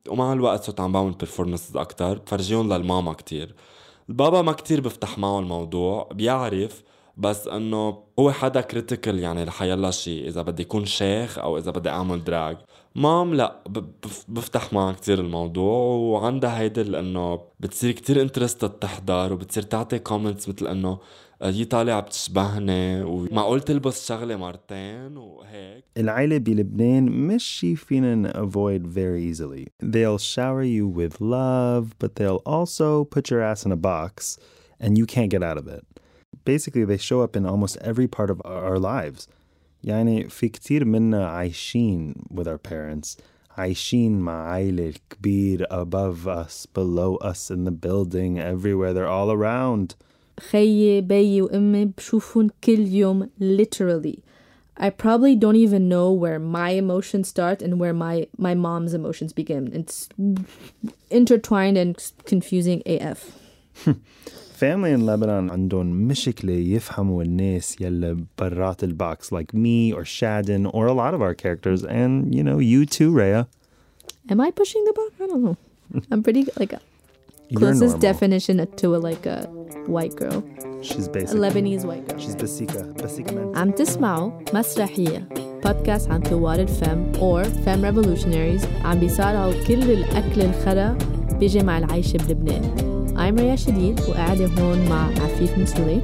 ومع الوقت صرت عم بعمل performances أكتر بفرجيهم للماما كتير. البابا ما كتير بفتح معه الموضوع، بيعرف بس انه هو حدا كريتيكال يعني لحيالله شيء، اذا بدي يكون شيخ او اذا بدي اعمل دراج. مام لا بفتح معها كتير الموضوع، وعندها هيدا لانه بتصير كتير انترستد تحضر، وبتصير تعطي كومنتس مثل انه هي طالعة بتشبهني ومعقول تلبس شغلة مرتين وهيك. العيلة بلبنان مش شي فينا avoid very easily. They'll shower you with love, but they'll also put your ass in a box and you can't get out of it. Basically, they show up in almost every part of our lives. يعني في كتير منا عايشين with our parents, عايشين مع عائلة كبير above us, below us, in the building, everywhere. They're all around. خيي بيي وأمي بشوفون كل يوم literally. I probably don't even know where my emotions start and where my mom's emotions begin. It's intertwined and confusing AF. Family in Lebanon عندهم مشكلة يفهموا الناس يلي برات البوكس, like me or Shadin or a lot of our characters, and you know, you too, Rhea. Am I pushing the box? I don't know. I'm pretty like closest definition to a white girl. She's basically a Lebanese white girl. She's Basika man. عم تسمعوا مسرحية بودكاست عن ثوار الفم or femme revolutionaries. عم بيصارعوا كل الأكل الخرا بيجي مع العيشة بلبنان. I'm ريا شديد وقاعدة هون مع عفيف مسلي.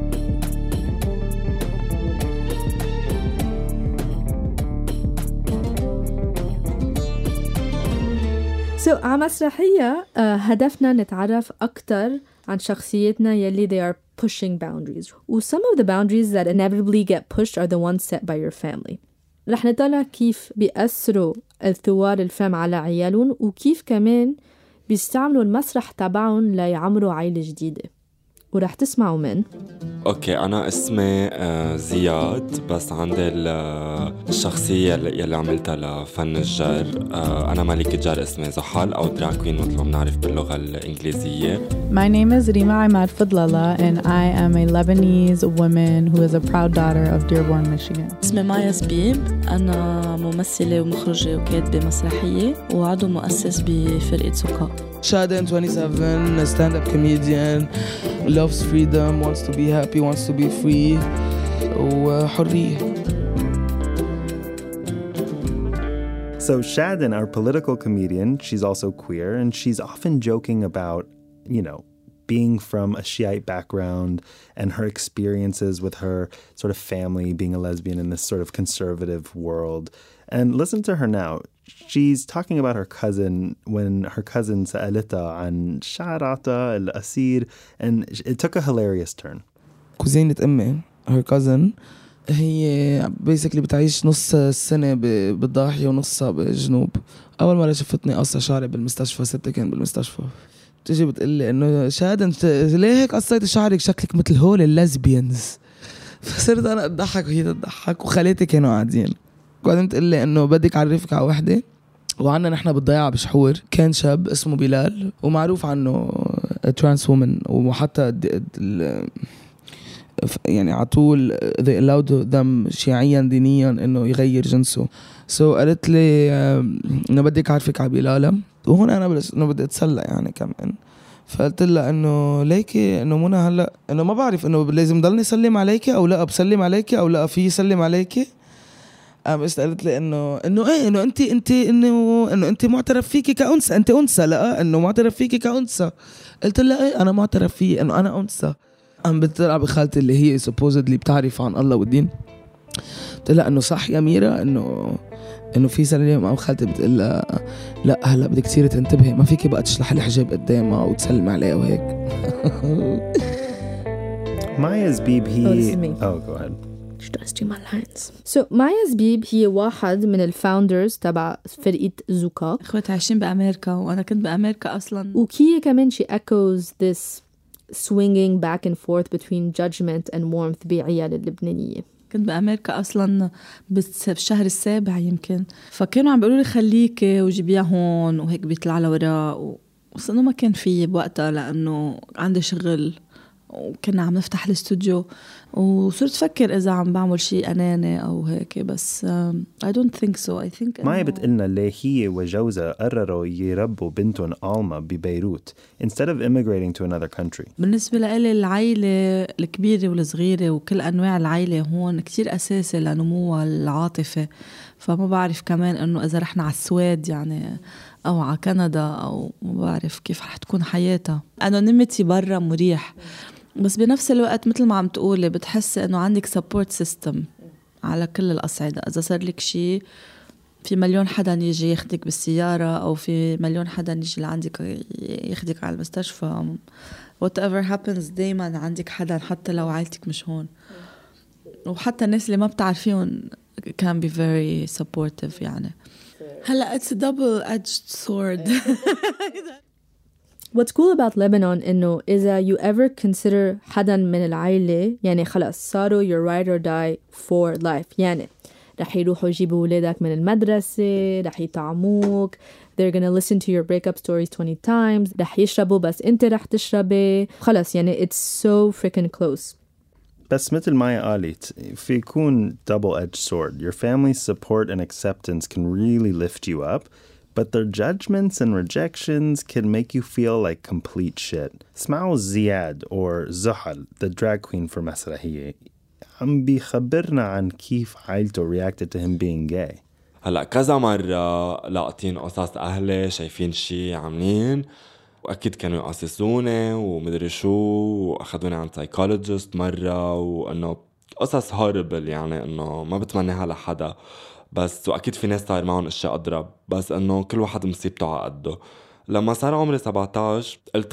على مسرحية هدفنا نتعرف أكتر عن شخصيتنا يلي they are pushing boundaries. و some of the boundaries that inevitably get pushed are the ones set by your family. رح نطلع كيف بيأثروا الثوار الفم على عيالهم وكيف كمان بيستعملوا المسرح تبعهم ليعمروا عائلة جديدة. ورح تسمعوا من اوكي انا اسمي زياد، بس عندي الشخصيه اللي عملتها لفن الجر. انا ملكة جر اسمي زحل او دراج كوين مثل ما بنعرف باللغه الانجليزيه. My name is Rima Ahmad Fadlala and I am a Lebanese woman who is a proud daughter of Dearborn, Michigan. اسمي مايا زبيب، انا ممثله ومخرجه وكاتبه مسرحيه وعضو مؤسس بفرقه سكا. Shadin, 27, a stand-up comedian, loves freedom, wants to be happy, wants to be free, وحرية. So Shadin, our political comedian, she's also queer, and she's often joking about, you know, being from a Shiite background and her experiences with her sort of family being a lesbian in this sort of conservative world. And listen to her now. She's talking about her cousin when her cousin سألتها عن شعراتها القصير, and it took a hilarious turn. كوزينة أمي, her cousin, هي basically بتعيش نص السنة بالضاحية ونصها بالجنوب. أول مرة شفتني قصة شعري بالمستشفى, ستة كان بالمستشفى, تجي بتقلي إنه شادن ليه هيك قصيت شعرك, شكلك مثل هول الليزبيانز. فصرت أنا أضحك وهي تضحك وخالتي كانوا قاعدين. وبعدين تقلي إنه بدك أعرفك على وحدة, وعنا نحن بالضيعة بشحور كان شاب اسمه بلال ومعروف عنه ترانس وومن, وحتى يعني عطول they allowed them شيعيا دينيا إنه يغير جنسه. قالت لي إنه بدك أعرفك على بلالة, وهون أنا بلش إنه بدي أتسلى يعني كمان. فقلت لها إنه ليكي إنه منى هلا إنه ما بعرف إنه لازم ضلني سلم عليكي أو لا, بسلم عليكي أو لا في يسلم عليكي. بس قالت لي إنه إيه إنه أنت معترف فيكي كأنثى, أنت أنثى, لا إنه معترف فيكي كأنثى. قلت لها إيه أنا معترف فيه إنه أنا أنثى. بتطلع بخالتي اللي هي supposedly بتعرف عن الله والدين, قلت لها إنه صح يا ميرا إنه في سلام, أو خالتي بتقول لها لا هلا بدك كثير تنتبهي, ما فيكي بقى تشلح الحجاب قدامها وتسلم عليها وهيك. Maya Zbib, go ahead. She does do my lines. So Maya Zbib هي واحد من الفاوندرز تبع فرقة زوكا. اخوات عايشين بأمريكا وأنا كنت بأمريكا أصلاً. وكي كمان she echoes this swinging back and forth between judgment and warmth بعيال اللبنانية. كنت بأمريكا أصلاً بالشهر السابع يمكن, فكانوا عم بيقولوا لي خليكي وجيبيها هون وهيك بيطلع لوراء, بس إنه ما كان فيه بوقتها لأنه عندي شغل وكنا عم نفتح الاستوديو وصرت فكر إذا عم بعمل شيء أناني أو هيك بس I don't think so. I think مايا بتقلنا ليه هي وجوزها قرروا يربوا بنتهم آلما ببيروت instead of immigrating to another country. بالنسبة لي العائلة الكبيرة والصغيرة وكل أنواع العائلة هون كتير أساسي لنمو العاطفة. فما بعرف كمان إنه إذا رحنا على السويد يعني أو على كندا أو ما بعرف كيف رح تكون حياتها. أنا نمتي برا مريح بس بنفس الوقت مثل ما عم تقولي بتحس إنه عندك support system على كل الأصعدة. إذا صار لك شيء في مليون حدا يجي ياخدك بالسيارة أو في مليون حدا يجي لعندك ياخدك على المستشفى whatever happens دايما عندك حدا حتى لو عائلتك مش هون. وحتى الناس اللي ما بتعرفيهم can be very supportive يعني. هلا it's a double-edged sword. What's cool about Lebanon إنه إذا you ever consider حدا من العائلة يعني خلاص صاروا your ride or die for life. يعني رح يروحوا يجيبوا ولادك من المدرسة، رح يطعموك، they're gonna listen to your breakup stories 20 times، رح يشربوا بس أنت رح تشربي. خلاص يعني it's so freaking close. بس مثل مايا قالت في يكون double-edged sword. Your family's support and acceptance can really lift you up, but their judgments and rejections can make you feel like complete shit. اسمعوا زياد or زحل, the drag queen for مسرحية, عم بيخبرنا عن كيف عائلته reacted to him being gay. هلأ كذا مرة لاقطين قصص أهلي شايفين شي عاملين وأكيد كانوا يقصصوني ومدري شو وأخذوني عن سايكولوجيست مرة وأنه قصص هوربل يعني أنه ما بتمنيها لحدا بس وأكيد في ناس صار معهم أشياء أضرب بس أنه كل واحد مصيبته على قده. لما صار عمري 17 قلت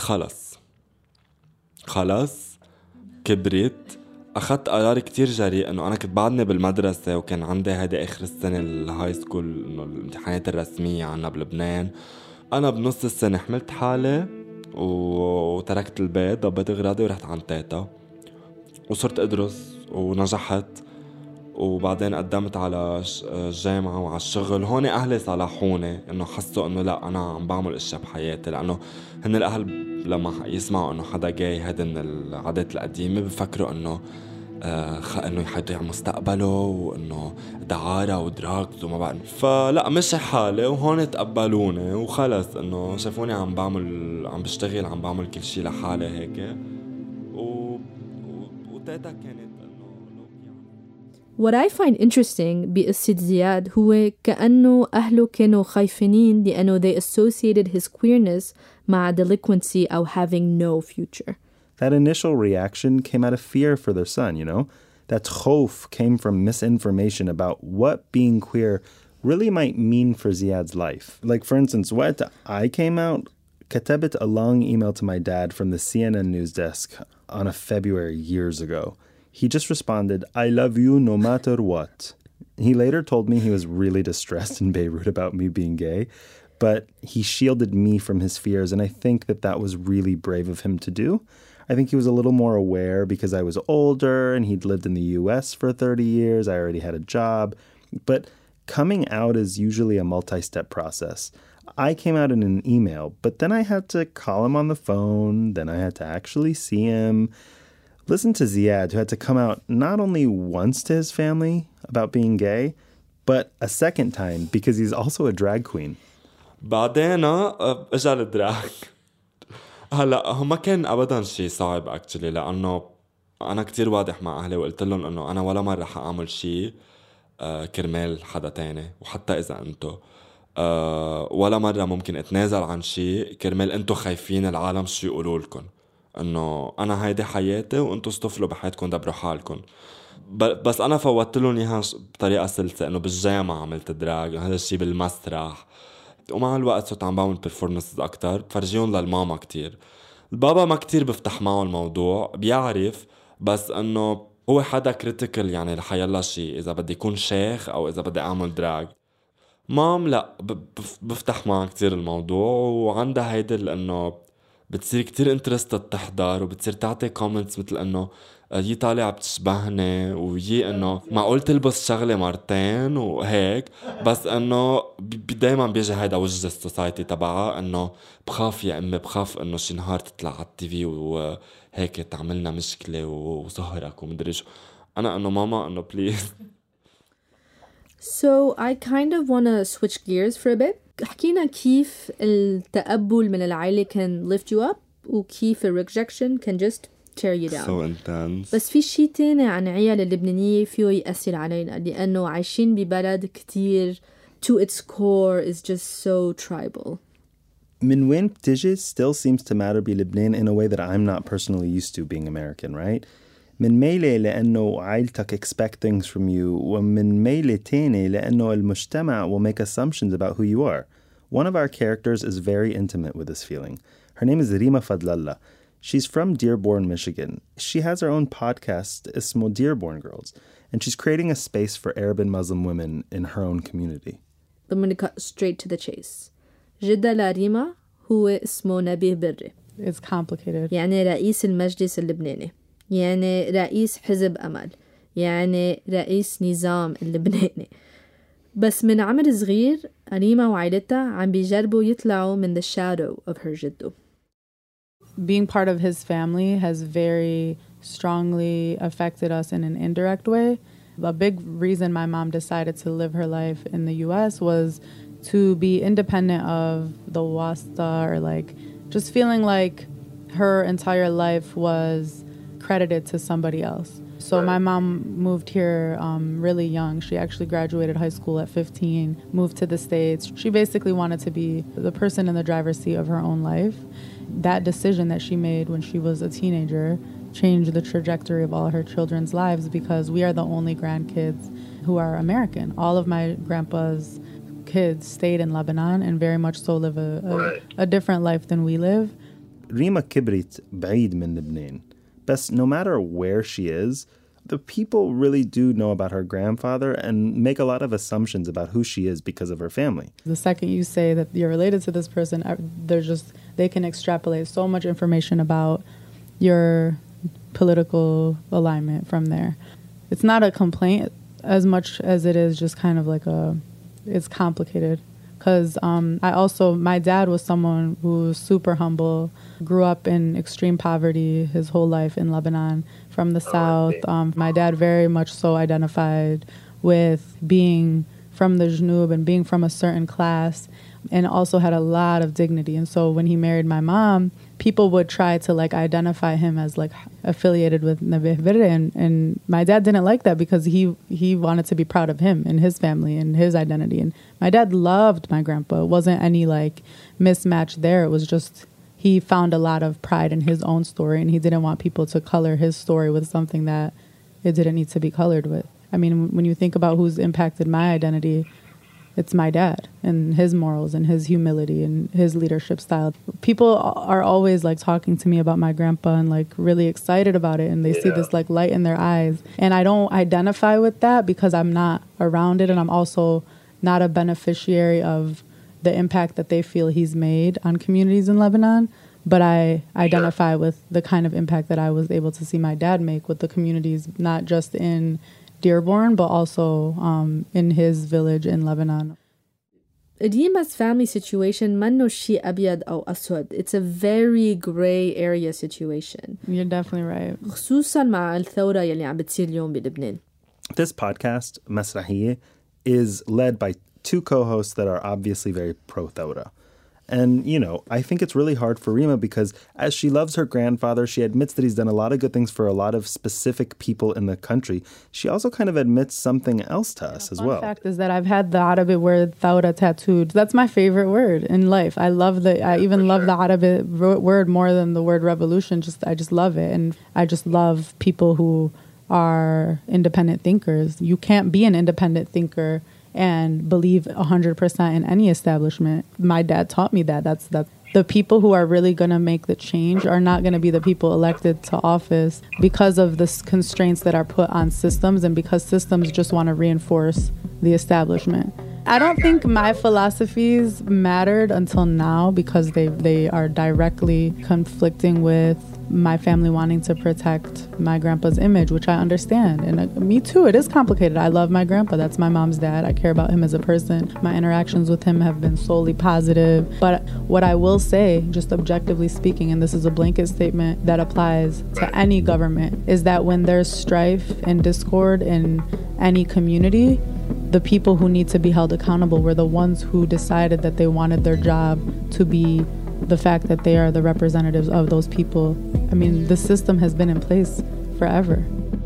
خلص كبرت أخذت قرار كتير جريء أنه أنا كنت بعدني بالمدرسة وكان عندي هيدا آخر السنة الهاي سكول إنه الامتحانات الرسمية عنا بلبنان. أنا بنص السنة حملت حالي وتركت البيت ضبيت غراضي ورحت عن تيتا وصرت أدرس ونجحت وبعدين قدمت على الجامعة وعلى الشغل. هون أهلي صالحوني إنه حسوا إنه لا أنا عم بعمل إشياء بحياتي لأنه هن الأهل لما يسمعوا إنه حدا جاي هذا من العادات القديمة بفكروا إنه إنه يضيع مستقبله وإنه دعارة ودراكز وما بعرف. فلا مشي حالي وهون تقبلوني وخلص إنه شافوني عم بشتغل عم بعمل كل شي لحالي هيك وتيتا كانت What I find interesting بقصة زياد هو كأنه أهله كانوا خايفين لأنه they associated his queerness مع delinquency أو having no future. That initial reaction came out of fear for their son, you know? That khof came from misinformation about what being queer really might mean for Ziad's life. Like, for instance, when I came out, كتبت a long email to my dad from the CNN news desk on a February years ago. He just responded, I love you no matter what. He later told me he was really distressed in Beirut about me being gay, but he shielded me from his fears, and I think that was really brave of him to do. I think he was a little more aware because I was older and he'd lived in the US for 30 years. I already had a job. But coming out is usually a multi-step process. I came out in an email, but then I had to call him on the phone. Then I had to actually see him. Listen to Ziad, who had to come out not only once to his family about being gay, but a second time because he's also a drag queen. بعدين اجى الدراج. هلا ما كان ابدا شيء صعب اكشلي لانه انا كتير واضح مع اهلي وقلت لهم انه انا ولا مره حاعمل شيء كرمال حدا تاني وحتى اذا انتو ولا مره ممكن اتنازل عن شيء كرمال انتو خايفين العالم شو يقولوا لكم انه انا هيدي حياتي وانتو استفلوا بحياتكم دبروا حالكم. بس انا فوتت لهم اياها بطريقه سلسه انه بالجامعه عملت دراج هذا الشيء بالمسرح ومع الوقت صرت عم بعمل بيرفورمانسز اكتر بفرجيهم للماما كتير. البابا ما كتير بفتح معه الموضوع بيعرف بس انه هو حدا كريتيكال يعني لحيالله شيء اذا بدي يكون شيخ او اذا بدي اعمل دراج. مام لا بفتح معه كتير الموضوع وعندها هيدا لانه بتصير كتير انترستد تحضر وبتصير تعطي كومنتس مثل انه يي طالع بتشبهني ويي انه معقول تلبس شغلة مرتين وهيك. بس انه دايما بيجي هيدا وجه السوسايتي تبعها انه بخاف يا امي بخاف انه شي نهار تطلع على التي في وهيك تعملنا مشكلة وظهرك ومدري شو. انا انه ماما انه بليز. So I kind of want to switch gears for a bit. حكينا كيف التقبل من العائلة can lift you up وكيف rejection can just tear you down. So intense. بس في شي تاني عن عيال اللبنانية فيه يأثر علينا لأنه عايشين ببلد كتير to its core is just so tribal. من وين بتجي still seems to matter بلبنان in a way that I'm not personally used to being American, right? من ميلة لأنه عائلتك expect things from you ومن ميلة تاني لأنه المجتمع will make assumptions about who you are. One of our characters is very intimate with this feeling. Her name is Rima Fadlallah. She's from Dearborn, Michigan. She has her own podcast, اسمه Dearborn Girls, and she's creating a space for Arab and Muslim women in her own community. I'm going to cut straight to the chase. جدة لريما هو اسمه نبيه بري. It's complicated. يعني رئيس المجلس اللبناني. يعني رئيس حزب أمل. يعني رئيس نظام اللبناني. بس من عمر صغير ريما وعائلتها عم بيجربوا يطلعوا من the shadow of her جدو. Being part of his family has very strongly affected us in an indirect way. A big reason my mom decided to live her life in the U.S. was to be independent of the wasta, or like just feeling like her entire life was credited to somebody else. So my mom moved here really young. She actually graduated high school at 15, moved to the States. She basically wanted to be the person in the driver's seat of her own life. That decision that she made when she was a teenager changed the trajectory of all her children's lives because we are the only grandkids who are American. All of my grandpa's kids stayed in Lebanon and very much so live a different life than we live. Rima كبرت بعيد من لبنان. But no matter where she is, the people really do know about her grandfather and make a lot of assumptions about who she is because of her family. The second you say that you're related to this person, they can extrapolate so much information about your political alignment from there. It's not a complaint as much as it is just kind of like it's complicated. Because my dad was someone who was super humble, grew up in extreme poverty his whole life in Lebanon from the south. My dad very much so identified with being from the Jnub and being from a certain class, and also had a lot of dignity. And so when he married my mom, people would try to like identify him as like affiliated with Nabih Birre, and my dad didn't like that because he wanted to be proud of him and his family and his identity. And my dad loved my grandpa. It wasn't any like mismatch there. It was just he found a lot of pride in his own story, and he didn't want people to color his story with something that it didn't need to be colored with. I mean, when you think about who's impacted my identity, it's my dad and his morals and his humility and his leadership style. People are always like talking to me about my grandpa and like really excited about it, and they see this like light in their eyes. And I don't identify with that because I'm not around it, and I'm also not a beneficiary of the impact that they feel he's made on communities in Lebanon. But I identify with the kind of impact that I was able to see my dad make with the communities, not just in Dearborn, but also in his village in Lebanon. Rima's family situation منه شيء أبيض أو أسود. It's a very gray area situation. You're definitely right. خصوصا مع الثورة يلي عم بتصير اليوم بلبنان. This podcast, Masrahiyeh, is led by two co-hosts that are obviously very pro-Thawra. And, you know, I think it's really hard for Rima because as she loves her grandfather, she admits that he's done a lot of good things for a lot of specific people in the country. She also kind of admits something else to us as well. The fact is that I've had the Arabic word Thawra tattooed. That's my favorite word in life. I love the Arabic word more than the word revolution. I just love it. And I just love people who are independent thinkers. You can't be an independent thinker and believe 100% in any establishment. My dad taught me that. That's the people who are really going to make the change are not going to be the people elected to office because of the constraints that are put on systems, and because systems just want to reinforce the establishment. I don't think my philosophies mattered until now because they are directly conflicting with my family wanting to protect my grandpa's image, which I understand. And me too, it is complicated. I love my grandpa. That's my mom's dad. I care about him as a person. My interactions with him have been solely positive. But what I will say, just objectively speaking, and this is a blanket statement that applies to any government, is that when there's strife and discord in any community, the people who need to be held accountable were the ones who decided that they wanted their job to be the fact that they are the representatives of those people. I mean, the system has been in place forever.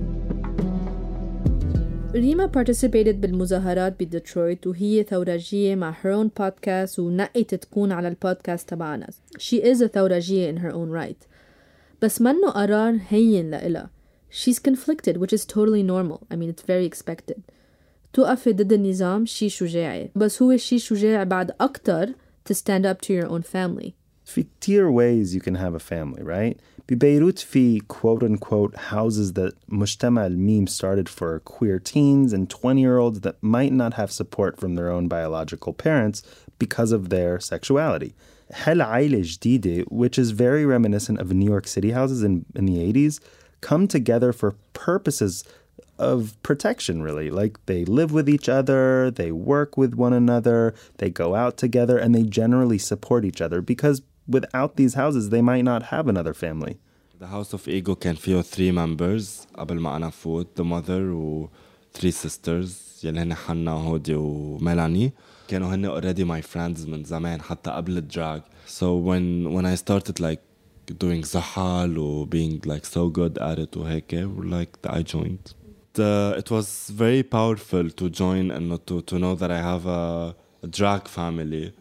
ريما participated بالمظاهرات بديترويت وهي ثورجية مع her own podcast ونقت تكون على البودكاست تبعنا. She is a ثورجية in her own right. بس منه قرار هين لإلها. She's conflicted, which is totally normal. I mean, it's very expected. توقفي ضد النظام شي شجاعي. بس هو شي شجاع بعد أكتر to stand up to your own family. في كتير ways you can have a family, right? ببيروت في quote-unquote houses that مجتمع الميم started for queer teens and 20-year-olds that might not have support from their own biological parents because of their sexuality. هل عائلة جديدة, which is very reminiscent of New York City houses in the 80s, come together for purposes of protection, really. Like they live with each other, they work with one another, they go out together, and they generally support each other because without these houses, they might not have another family. The House of Ego كان فيه 3 members قبل ما أنا فوت, the mother و 3 sisters يلي هن حنا وهودي وميلاني. كانوا هن already my friends من زمان حتى قبل الدراج. So when I started like doing زحل و being like so good at it وهيك, like I joined. It was very powerful to join and to know that I have a drag family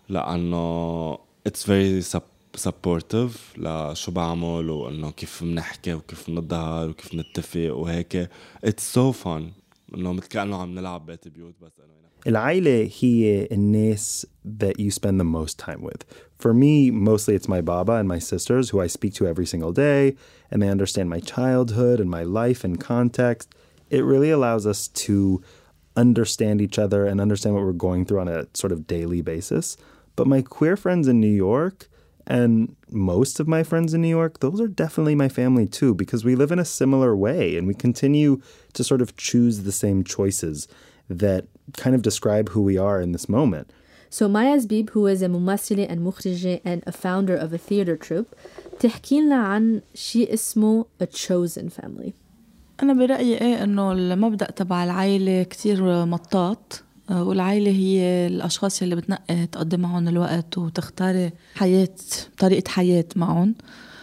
لأنه it's very supportive لشو بعمل وإنه كيف بنحكي وكيف نظهر وكيف نتفق وهيك. It's so fun إنه مثل كأنه عم نلعب بيت بيوت بس إنه العائلة هي الناس that you spend the most time with. For me, mostly it's my baba and my sisters who I speak to every single day, and they understand my childhood and my life and context. It really allows us to understand each other and understand what we're going through on a sort of daily basis. But my queer friends in New York and most of my friends in New York, those are definitely my family too, because we live in a similar way and we continue to sort of choose the same choices that kind of describe who we are in this moment. So Maya Zbib, who is a ممثلة and مخرجة and a founder of a theater troupe, تحكي لنا عن شيء اسمه a chosen family. أنا برأيي إنه المبدأ تبع العائلة كتير مطاط, والعائلة هي الأشخاص اللي بتنقي تقضي معهم الوقت وتختاري طريقة حياة معهم.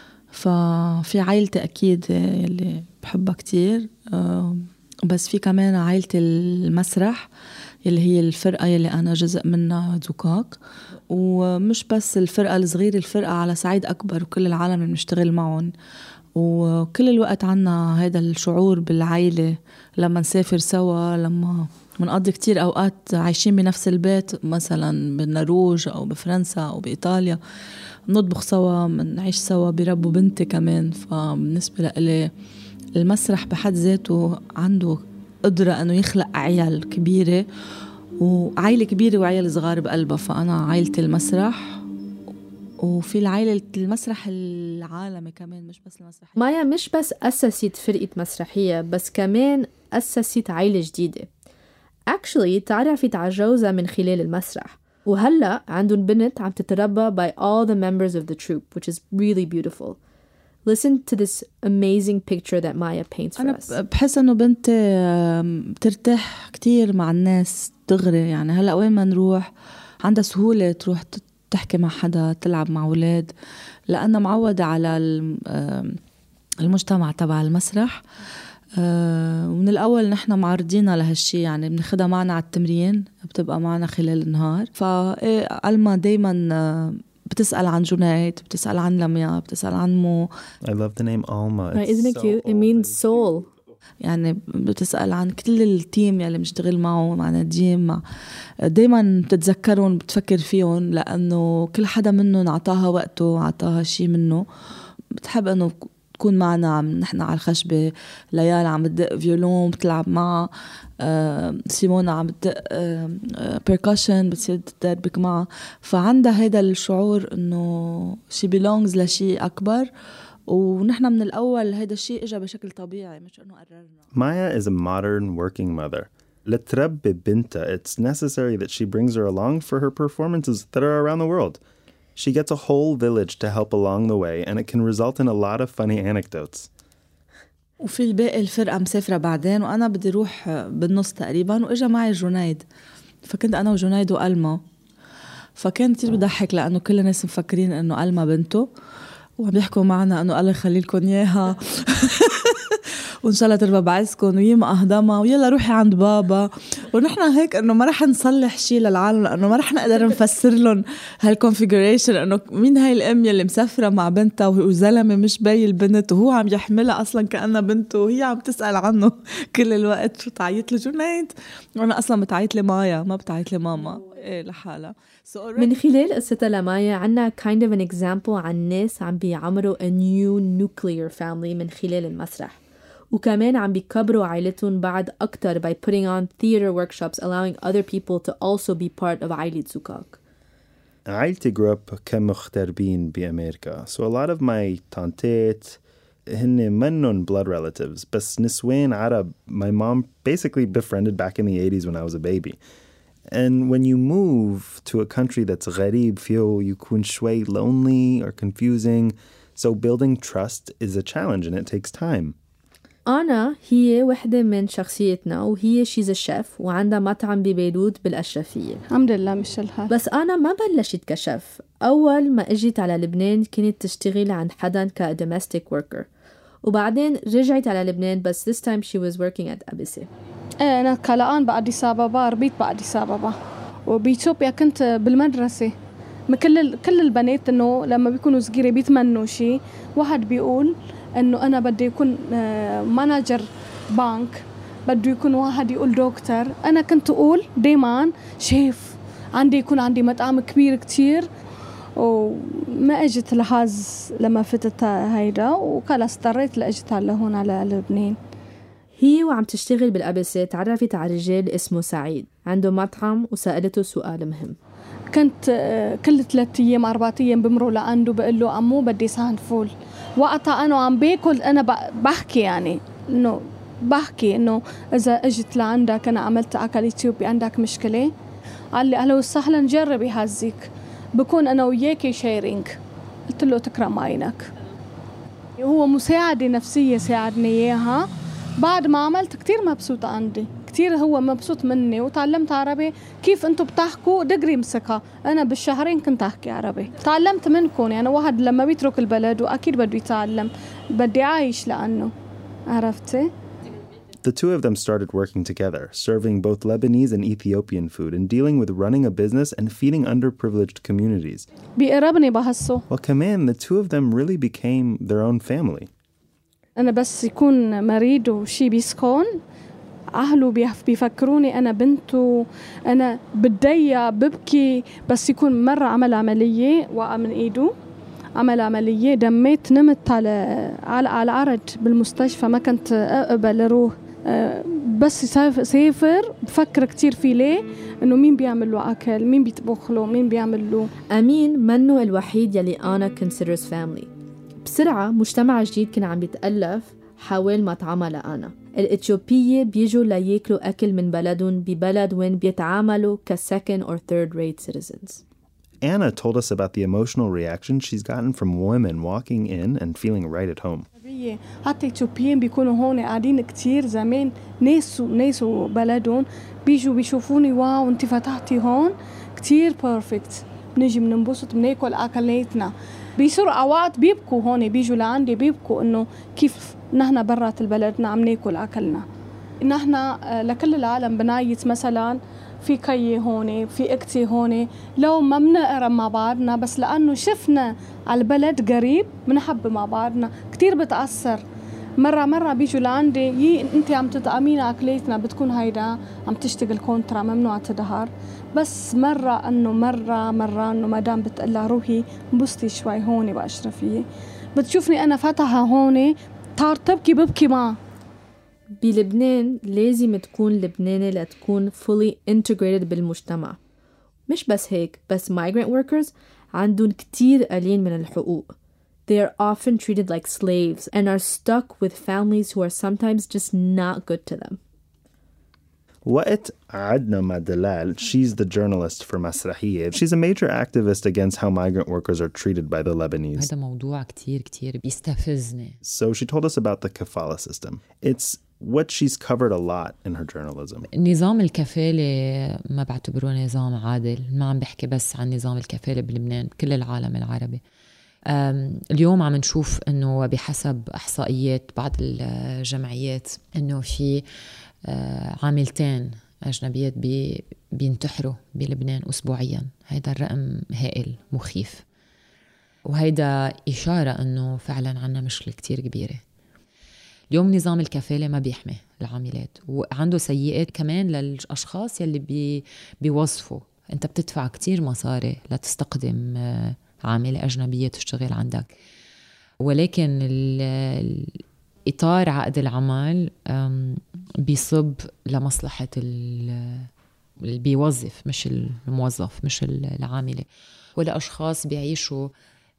ففي عائلتي أكيد اللي بحبها كتير, بس في كمان عائلة المسرح اللي هي الفرقة اللي أنا جزء منها زوكاك, ومش بس الفرقة الصغيرة, الفرقة على صعيد أكبر وكل العالم اللي بنشتغل معهم. وكل الوقت عنا هذا الشعور بالعائلة لما نسافر سوا, لما منقضي كتير أوقات عايشين بنفس البيت مثلا بالنرويج أو بفرنسا أو بإيطاليا, نطبخ سوا, منعيش سوا, بربوا بنتي كمان. فبالنسبة لي المسرح بحد ذاته عنده قدرة أنه يخلق عيال كبيرة وعائلة كبيرة وعيال صغار بقلبها. فأنا عائلة المسرح, وفي العائلة المسرح العالمي كمان, مش بس المسرح. مايا مش بس أسست فرقة مسرحية, بس كمان أسست عائلة جديدة. Actually تعرفت على جوزها من خلال المسرح, وهلأ عندهم بنت عم تتربى by all the members of the troupe, which is really beautiful. Listen to this amazing picture that Maya paints for us. أنا بحس إنه بنتي بترتاح كتير مع الناس دغري. يعني هلأ وين ما نروح عندها سهولة تروح تحكي مع حدا, تلعب مع أولاد, لأنها معودة على المجتمع تبع المسرح. ومن الأول نحن معرضينها لهالشي, يعني بناخدها معنا على التمرين, بتبقى معنا خلال النهار. فألما دايما بتسأل عن جنيد, بتسأل عن لميا, بتسأل عن مو. I love the name Alma. Right, isn't it cute? It means soul. يعني بتسأل عن كل التيم يلي بنشتغل معه, مع نديم, دايما بتتذكرهم, بتفكر فيهم, لأنه كل حدا منهم عطاها وقته, عطاها شي منه. بتحب أنه تكون معنا نحن على الخشبة، ليال عم تدق فيولون بتلعب معها، سيمونا عم تدق بيركشن بتصير تدربك معها. فعندها هيدا الشعور إنه she belongs لشيء أكبر، ونحن من الأول هيدا الشيء إجا بشكل طبيعي مش إنه قررنا. Maya is a modern working mother. لتربي بنتها, it's necessary that she brings her along for her performances that are around the world. She gets a whole village to help along the way, and it can result in a lot of funny anecdotes. وفي الباقي الفرقة مسافرة بعدين، وأنا بدي روح بالنص تقريبا، وإجا معي جنيد، فكنت أنا وجنيد وألما. فكان كتير بضحك لأنه كل الناس مفكرين أنه ألما بنته، وعم يحكوا معنا أنه الله يخلي لكم إياها وإن شاء الله تربى بعزكم ويما أهضمها ويلا روحي عند بابا. ونحن هيك أنه ما رح نصلح شيء للعالم، لأنه ما رح نقدر نفسر لهم هالكونفيجريشن أنه مين هاي الأم يلي مسافرة مع بنتها وزلمة مش باي البنت، وهو عم يحملها أصلا كأنها بنته، وهي عم تسأل عنه كل الوقت. شو تعيط له جنيد، وأنا أصلا بتعيط لي مايا، ما بتعيط لي ماما إيه لحالها. من خلال قصتها لمايا عنا kind of an example عن ناس عم بيعمروا a new nuclear family من خلال المسرح، وكمان عم بيكبروا عائلتهم بعد أكتر by putting on theater workshops allowing other people to also be part of عائلة زوكاك. عائلتي grew up كمغتربين بأمريكا, so a lot of my tantet هن منن blood relatives, بس نسوان عرب my mom basically befriended back in the 80s when I was a baby. And when you move to a country that's غريب فيه يكون شوي lonely or confusing, so building trust is a challenge and it takes time. أنا هي وحدة من شخصيتنا, وهي she's a chef وعندها مطعم ببيروت بالأشرفية. الحمد لله مش الحال. بس أنا ما بلشت كشف. أول ما أجيت على لبنان كنت تشتغل عند حدا كdomestic worker, وبعدين رجعت على لبنان بس this time she was working at أبيسي. أنا كالآن بأديس أبابا, ربيت بأديس أبابا, وبإثيوبيا كنت بالمدرسة. كل البنات إنه لما بيكونوا صغيرة بيتمنوا شيء, واحد بيقول إنه أنا بدي يكون مانجر بنك, بده يكون واحد يقول دكتور. أنا كنت أقول دايما شيف, يكون عندي مطعم كبير كتير, وما أجت لهاز لما فتت هيدا, وكلا اضطريت لأجت على هون على لبنان. هي وعم تشتغل بالأبسة تعرفت على رجال اسمه سعيد عنده مطعم, وسألته سؤال مهم. كنت كل 3 أيام 4 أيام بمروا لعنده بقول له عمو بدي صحن فول. وقتها أنا عم باكل أنا بحكي يعني إنه بحكي إنه إذا أجت لعندك أنا عملت أكل إثيوبي عندك مشكلة؟ قال لي أهلا وسهلا جربي هزيك, بكون أنا وياكي شيرينج. قلت له تكرم عينك. هو مساعدة نفسية ساعدني إياها. بعد ما عملت كتير مبسوطة عندي, كتير هو مبسوط مني, وتعلمت عربي. كيف انتو بتحكوا دقري مسكها, انا بالشهرين كنت احكي عربي. تعلمت منكم, يعني واحد لما بيترك البلد واكيد بده يتعلم, بدي عايش لانه عرفتي. The two of them started working together, serving both Lebanese and Ethiopian food and dealing with running a business and feeding underprivileged communities. بيقربني بحسه. Well, كمان the two of them really became their own family. أنا بس يكون مريض وشي بيسخن, أهله بيفكروني أنا بنته, أنا بتضيق ببكي. بس يكون مرة عمل عملية, وقع من إيده, عمل عملية, دميت, نمت على العرض بالمستشفى, ما كنت أقبل أروح. بس سافر بفكر كتير فيه, ليه إنه مين بيعمل له أكل, مين بيطبخ له, مين بيعمل له. أمين منه الوحيد يلي أنا considers family. بسرعة مجتمع جديد كان عم بيتألف حول مطعمها لأنا. الإثيوبية بيجوا لياكلوا أكل من بلدهم ببلد وين بيتعاملوا second or third rate citizens. Anna told us about the emotional reaction she's gotten from women walking in and feeling right at home. حتى إثيوبيين بيكونوا هون قاعدين كتير زمان, ناس بلدهم بيجوا بيشوفوني, واو انت فتحتي هون كتير بيرفكت, بنيجي بننبسط بناكل أكلاتنا. بيصيروا أوقات بيبكوا هون, بيجوا لعندي بيبكوا إنه كيف نحن برات البلد عم ناكل أكلنا. نحن لكل العالم بنايت مثلا في كي هون, في اكتي هون, لو ما بنقرب مع بعضنا, بس لأنه شفنا على البلد قريب بنحب مع بعضنا. كتير بتأثر. مرة بيجوا لعندي, انت عم تطعمينا أكلاتنا, بتكون هيدا عم تشتغل كونترا, ممنوع تدهار. بس مرة انه مدام بتقلها روحي بستي شوي هون بأشرفية, بتشوفني أنا فتحة هون طار تبكي ببكي معه. بلبنان لازم تكون لبناني لتكون fully integrated بالمجتمع. مش بس هيك، بس migrant workers عندهم كتير قليل من الحقوق. They are often treated like slaves and are stuck with families who are sometimes just not good to them. وقت عدنا مع دلال, she's the journalist for مسرحية. She's a major activist against how migrant workers are treated by the Lebanese. هذا موضوع كتير بيستفزني. So she told us about the kafala system. It's what she's covered a lot in her journalism. نظام الكفالة ما بعتبره نظام عادل. ما عم بحكي بس عن نظام الكفالة بلبنان، كل العالم العربي. اليوم عم نشوف أنه بحسب إحصائيات بعض الجمعيات أنه في عاملتين أجنبيات بينتحروا بلبنان أسبوعيا. هيدا الرقم هائل مخيف، وهيدا إشارة أنه فعلا عنا مشكلة كتير كبيرة. اليوم نظام الكفالة ما بيحمي العاملات، وعنده سيئات كمان للأشخاص يلي بيوظفوا. أنت بتدفع كتير مصاري لتستقدم عاملة أجنبية تشتغل عندك، ولكن إطار عقد العمل بيصب لمصلحة اللي بيوظف، مش الموظف، مش العاملة. ولا أشخاص بيعيشوا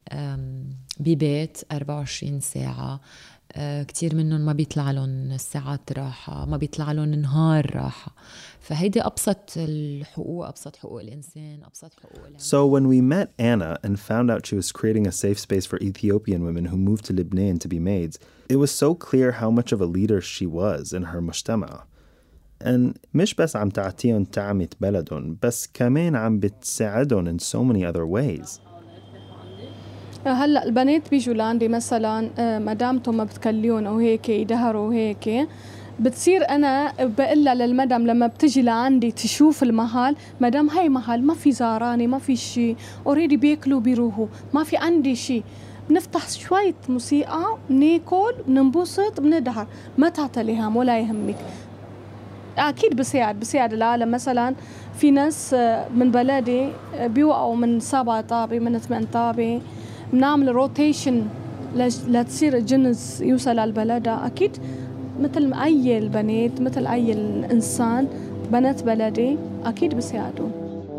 ببيت 24 ساعة، كتير منهم ما بيطلع لهم ساعات راحة، ما بيطلع لهم نهار راحة. فهيدي أبسط الحقوق، أبسط حقوق الإنسان، أبسط حقوق العمل. So when we met Anna and found out she was creating a safe space for Ethiopian women who moved to Lebanon to be maids, it was so clear how much of a leader she was in her مجتمع. And مش بس عم تعطيهم طعمة بلدهم، بس كمان عم بتساعدهم in so many other ways. هلا البنات بيجوا لعندي مثلا مدامتهم ما بتكليون او هيك يدهروا هيك، بتصير انا بقلها للمدام لما بتجي لعندي تشوف المحل، مدام هاي محل ما في زاراني، ما في شيء، اوريدي بياكلوا بيروحوا، ما في عندي شيء، بنفتح شوية موسيقى، بناكل، بننبسط، بندهر، ما تعتلي هم ولا يهمك. اكيد بساعد العالم. مثلا في ناس من بلدي بيوقعوا من 7 طابة، من 8 طابة، بنعمل روتيشن لتصير الجنس يوصل على البلد. أكيد مثل أي البنات، مثل أي الإنسان، بنات بلدي أكيد بساعدوا.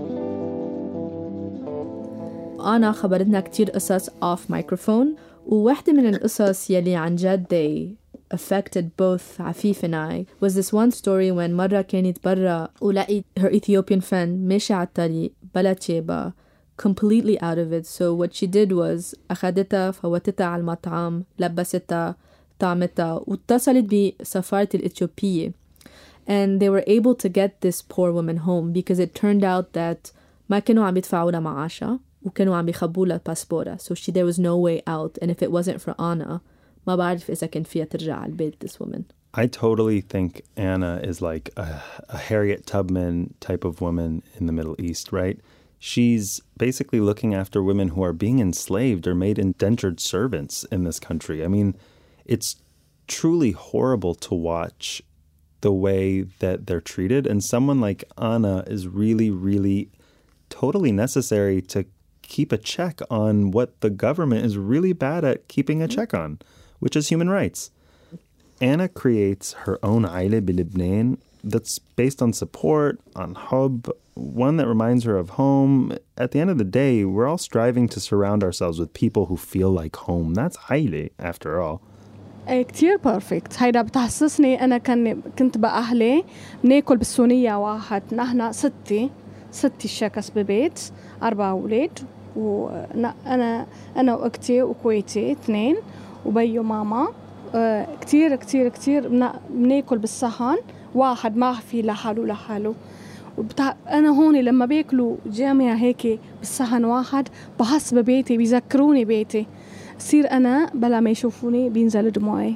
أنا خبرتنا كتير قصص off microphone، وواحدة من القصص يلي عن جد they affected both عفيف and I was this one story when مرة كانت برا ولقيت her Ethiopian friend ماشي على الطريق بلا تشيبة completely out of it. So what she did was أخدتها فوتتها على المطعم، لبستها، طعمتها، واتصلت بسفارة الإثيوبية. And they were able to get this poor woman home because it turned out that ما كانوا عم يدفعوا لها معاشها وكانوا عم يخبوا لها باسبورة. So there was no way out. And if it wasn't for Anna, ما بعرف إذا كان فيها ترجع على البيت this woman. I totally think Anna is like a Harriet Tubman type of woman in the Middle East, right? She's basically looking after women who are being enslaved or made indentured servants in this country. I mean, it's truly horrible to watch the way that they're treated. And someone like Anna is really, really totally necessary to keep a check on what the government is really bad at keeping a check on, which is human rights. Anna creates her own عائلة بلبنان that's based on support, on hub, one that reminds her of home. At the end of the day, we're all striving to surround ourselves with people who feel like home. That's عائلة after all. كتير بيرفكت. هيدا بتحسسني أنا كنت بأهلي بناكل بالسونية واحد، نحن ستي الشكس ببيت، 4 أولاد، وأنا وأختي وكويتي 2 وبيو ماما. كتير كتير كتير بناكل بالصحن واحد، ما في لحاله. أنا هون لما بياكلوا جامعة هيك بالصحن واحد بحس ببيتي، بيذكروني بيتي. صير أنا بلا ما يشوفوني بينزل دموعي.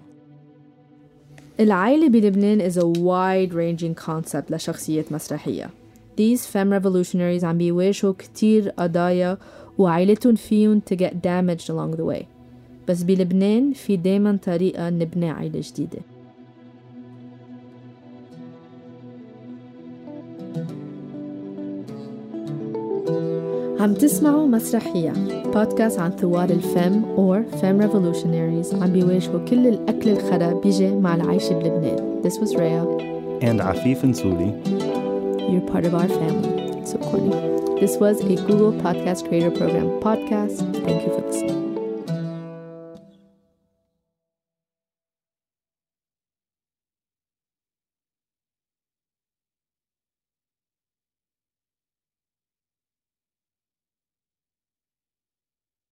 العائلة بلبنان is a wide-ranging concept لشخصية مسرحية. These femme revolutionaries عم بيواجهوا كتير قضايا وعائلتهم فيهم to get damaged along the way. بس بلبنان في دايما طريقة نبني عائلة جديدة. عم تسمعوا مسرحية بودكاست عن ثوار الفم or femme revolutionaries عم بيواجهوا كل الأكل الخرا بيجي مع العيش بلبنان. This was Rhea. And Afif and Suli. You're part of our family. So corny. This was a Google Podcast Creator Program podcast. Thank you for listening.